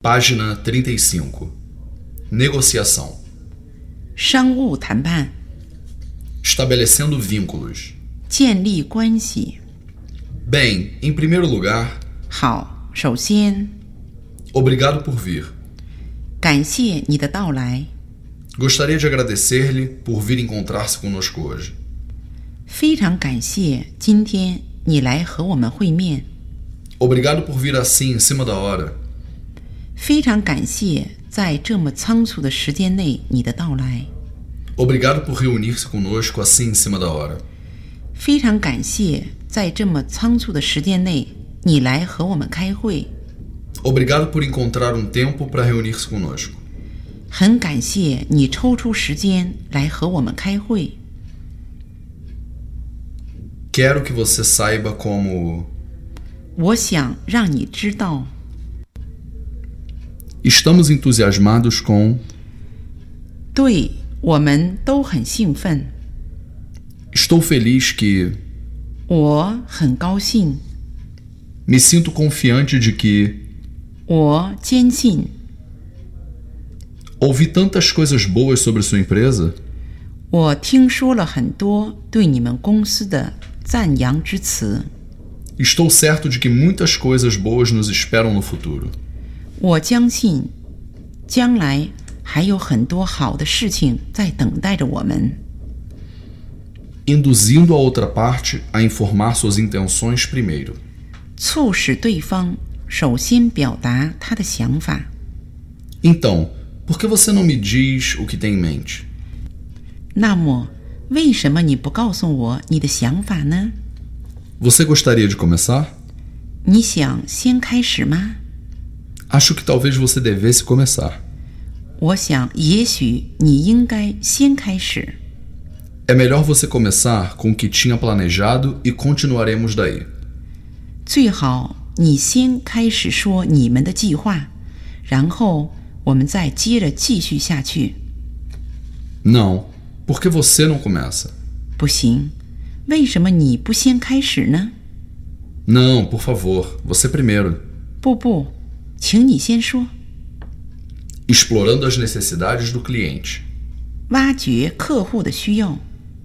Página 35. Negociação. 商务谈判， Estabelecendo vínculos. 建立关系。 Bem, em primeiro lugar, 好，首先， obrigado por vir. 感谢你的到来， Gostaria de agradecer-lhe por vir encontrar-se conosco hoje. 非常感谢今天你来和我们会面， Obrigado por vir assim em cima da hora. 非常感谢在这么仓促的时间内你的到来， Obrigado por reunir-se conosco assim em cima da hora. 非常感谢在这么仓促的时间内你来和我们开会， Obrigado por encontrar um tempo para reunir-se conosco. 很感谢你抽出时间来和我们开会。 Quero que você saiba como... 我想让你知道， Estamos entusiasmados com... 对我们都很兴奋， Estou feliz que... 我很高兴， Me sinto confiante de que... 我坚信， Ouvi tantas coisas boas sobre sua empresa. 我听说了很多对你们公司的赞扬之词， Estou certo de que muitas coisas boas nos esperam no futuro. 我相信将来还有很多好的事情在等待着我们， Induzindo a outra parte a informar suas intenções primeiro. 促使对方首先表达他的想法。 Então, por que você não me diz o que tem em mente? 那么，为什么你不告诉我你的想法呢？ Você gostaria de começar? 你想先开始吗？ Acho que talvez você devesse começar. 我想，也许你应该先开始。 É melhor você começar com o que tinha planejado e continuaremos daí. 最好你先开始说你们的计划，然后我们再接着继续下去。 Não, por que você não começa? 不行，为什么你不先开始呢？ Não, por favor, você primeiro. 不，请你先说。 Explorando as necessidades do cliente. 挖掘客户的需要。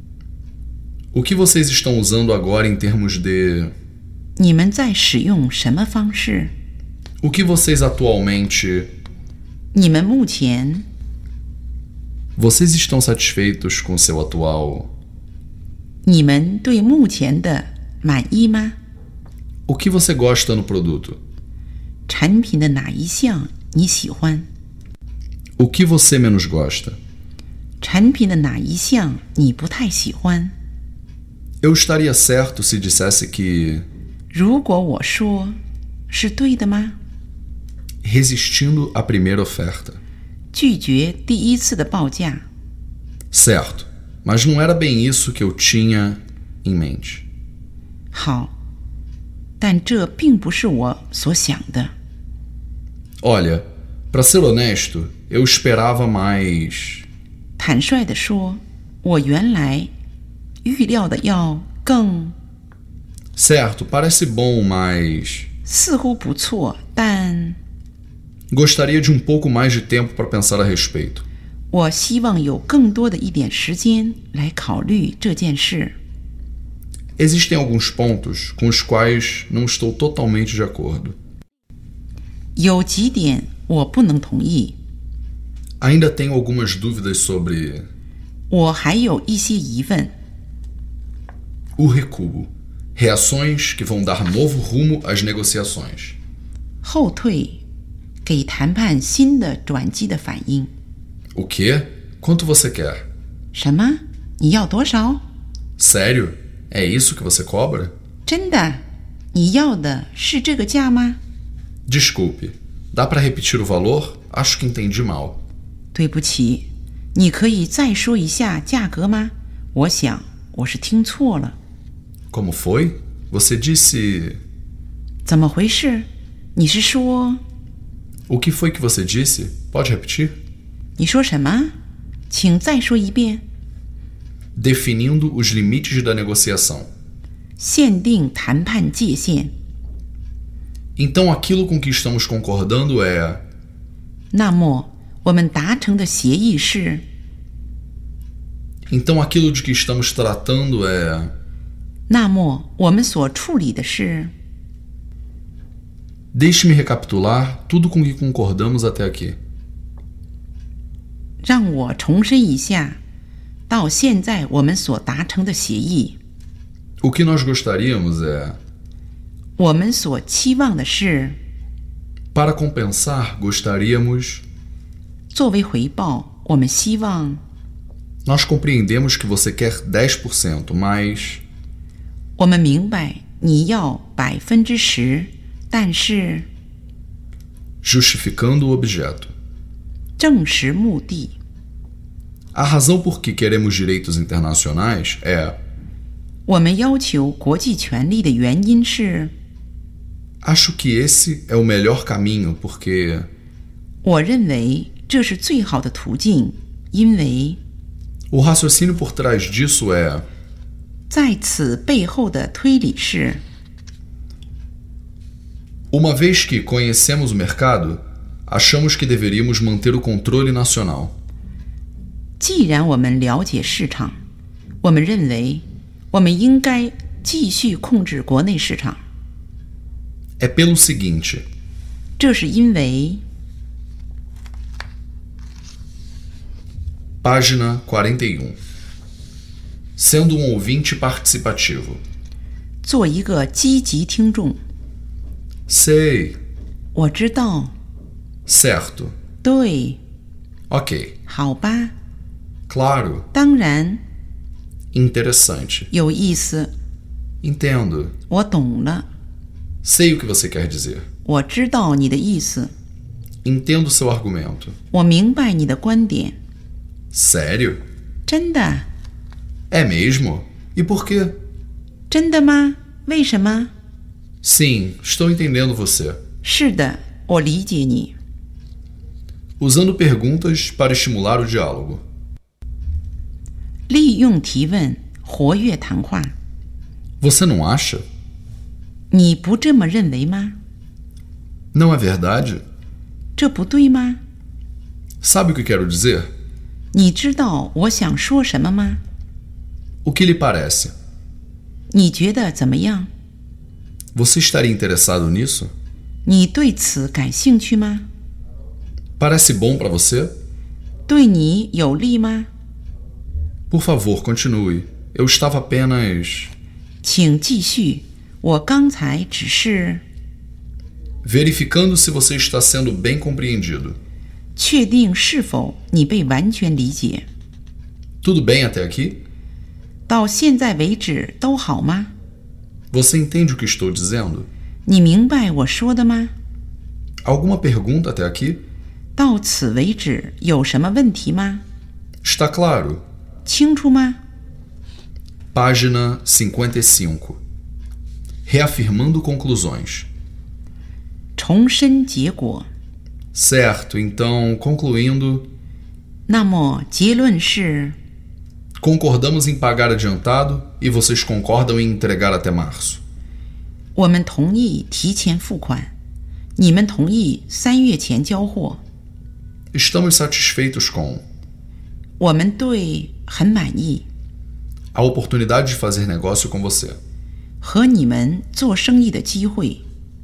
O que vocês estão usando agora em termos de... 你们在使用什么方式？ O que vocês atualmente... 你们目前， Vocês estão satisfeitos com seu atual... 你们对目前的满意吗？ O que você gosta no produto? 产品的哪一项你喜欢？ O que você menos gosta? 产品的哪一项你不太喜欢？ Eu estaria certo se dissesse que... 如果我说是对的吗？ Resistindo à primeira oferta. 拒绝第一次的报价， Certo, mas não era bem isso que eu tinha em mente. 好，但这并不是我所想的。 Olha, para ser honesto, eu esperava mais... 坦率地说，我原来预料的要更， Certo, parece bom, mas... 似乎不错，但 Gostaria de um pouco mais de tempo para pensar a respeito. 我希望有更多的一点时间来考虑这件事。 Existem alguns pontos com os quais não estou totalmente de acordo. 有几点我不能同意， Ainda tenho algumas dúvidas sobre... 我还有一些疑问。 O recuo. Reações que vão dar novo rumo às negociações. 后退，给谈判新的转机的反应。 O quê? Quanto você quer? 什么？你要多少？ Sério? É isso que você cobra? 真的？你要的是这个价吗？ Desculpe. Dá para repetir o valor? Acho que entendi mal. 对不起，你可以再说一下价格吗？我想我是听错了。 Como foi? Você disse... 怎么回事？你是说？ O que foi que você disse? Pode repetir? 你说什么？请再说一遍。 Definindo os limites da negociação. 限定谈判界限。 Então aquilo com que estamos concordando é... 那么我们达成的协议是 Então aquilo de que estamos tratando é... 那么我们所处理的是 Deixe-me recapitular tudo com que concordamos até aqui. 让我重申一下到现在我们所达成的协议 O que nós gostaríamos é... 我们所期望的是 Para compensar, gostaríamos... 作为回报我们希望 Nós compreendemos que você quer 10%, mas... 我们明白你要10%但是 Justificando o objeto. 证实目的 A razão por que queremos direitos internacionais é... 我们要求国际权利的原因是 Acho que esse é o melhor caminho, porque... 我认为这是最好的途径因为 O raciocínio por trás disso é... 在此背后的推理是 Uma vez que conhecemos o mercado, achamos que deveríamos manter o controle nacional. 既然我们了解市场我们认为我们应该继续控制国内市场 É pelo seguinte... 这是因为 Página 41. Sendo um ouvinte participativo. 做一个积极听众 Sei. 我知道 Certo. 对 Ok. 好吧 Claro. 当然 Interessante. 有意思 Entendo. 我懂了 Sei o que você quer dizer. 我知道你的意思 Entendo seu argumento. 我明白你的观点 Sério? 真的 É mesmo? E por quê? 真的吗为什么 Sim, estou entendendo você. 是的我理解你 Usando perguntas para estimular o diálogo. 利用提问活跃谈话 Você não acha? 你不这么认为吗 Não é verdade? 这不对吗 Sabe o que quero dizer? 你知道我想说什么吗 O que lhe parece? 你觉得怎么样 Você estaria interessado nisso? 你对此感兴趣吗 Parece bom para você? 对你有利吗 Por favor, continue. Eu estava apenas... 请继续我刚才只是 verificando se você está sendo bem compreendido. 确定是否你被完全理解 Tudo bem até aqui? 到现在为止都好吗 Você entende o que estou dizendo? 你明白我说的吗 Alguma pergunta até aqui? 到此为止有什么问题吗 Está claro. 清楚吗 Página 55. Reafirmando conclusões. 重申结果 Certo, então, concluindo, 那么结论是 concordamos em pagar adiantado e vocês concordam em entregar até março. 我们同意提前付款你们同意3月前交货 Estamos satisfeitos com 我们对很满意 a oportunidade de fazer negócio com você. 和你们做生意的机会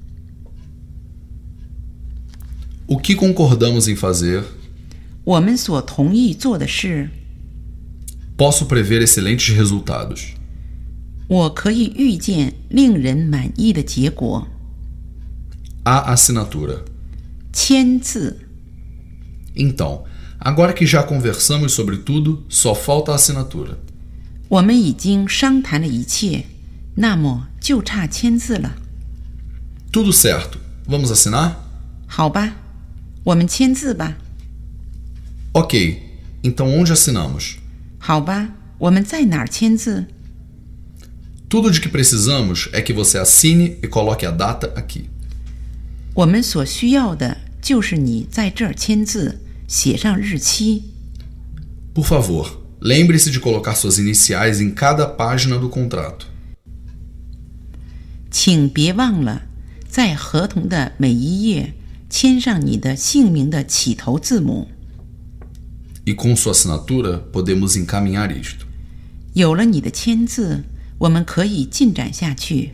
O que concordamos em fazer? 我们所同意做的是 Posso prever excelentes resultados. 我可以预见令人满意的结果 A assinatura. 签字 Então, agora que já conversamos sobre tudo, só falta a assinatura. 我们已经商谈了一切那么就差签字了 Tudo certo. Vamos assinar? 好吧我们签字吧 Ok. Então onde assinamos? 好吧我们在哪儿签字 Tudo de que precisamos é que você assine e coloque a data aqui. 我们所需要的就是你在这儿签字写上日期 Por favor, lembre-se de colocar suas iniciais em cada página do contrato. 请别忘了在合同的每一页签上你的姓名的起头字母。 E com sua assinatura podemos encaminhar isto. 有了你的签字，我们可以进展下去。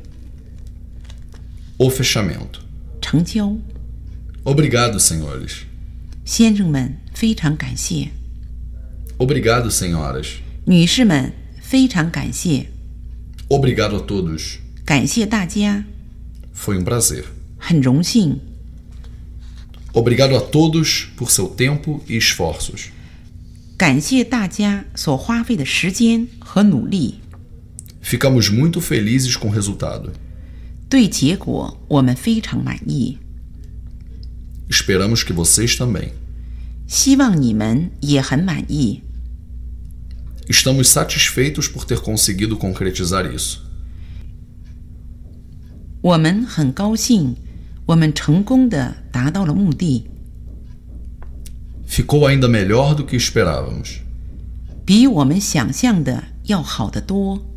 O fechamento. 成交。 Obrigado, senhores. 先生们，非常感谢。 Obrigado, senhoras. 女士们，非常感谢。 Obrigado a todos. 感谢大家。 Foi prazer. 很荣幸。 Obrigado a todos por seu tempo e esforços. 感谢大家所花费的时间和努力。 Ficamos muito felizes com o resultado. 对结果我们非常满意。 Esperamos que vocês também. 希望你们也很满意。 Estamos satisfeitos por ter conseguido concretizar isso. 我们很高兴，我们成功地达到了目的。 Ficou ainda melhor do que esperávamos. 比我们想象的要好得多。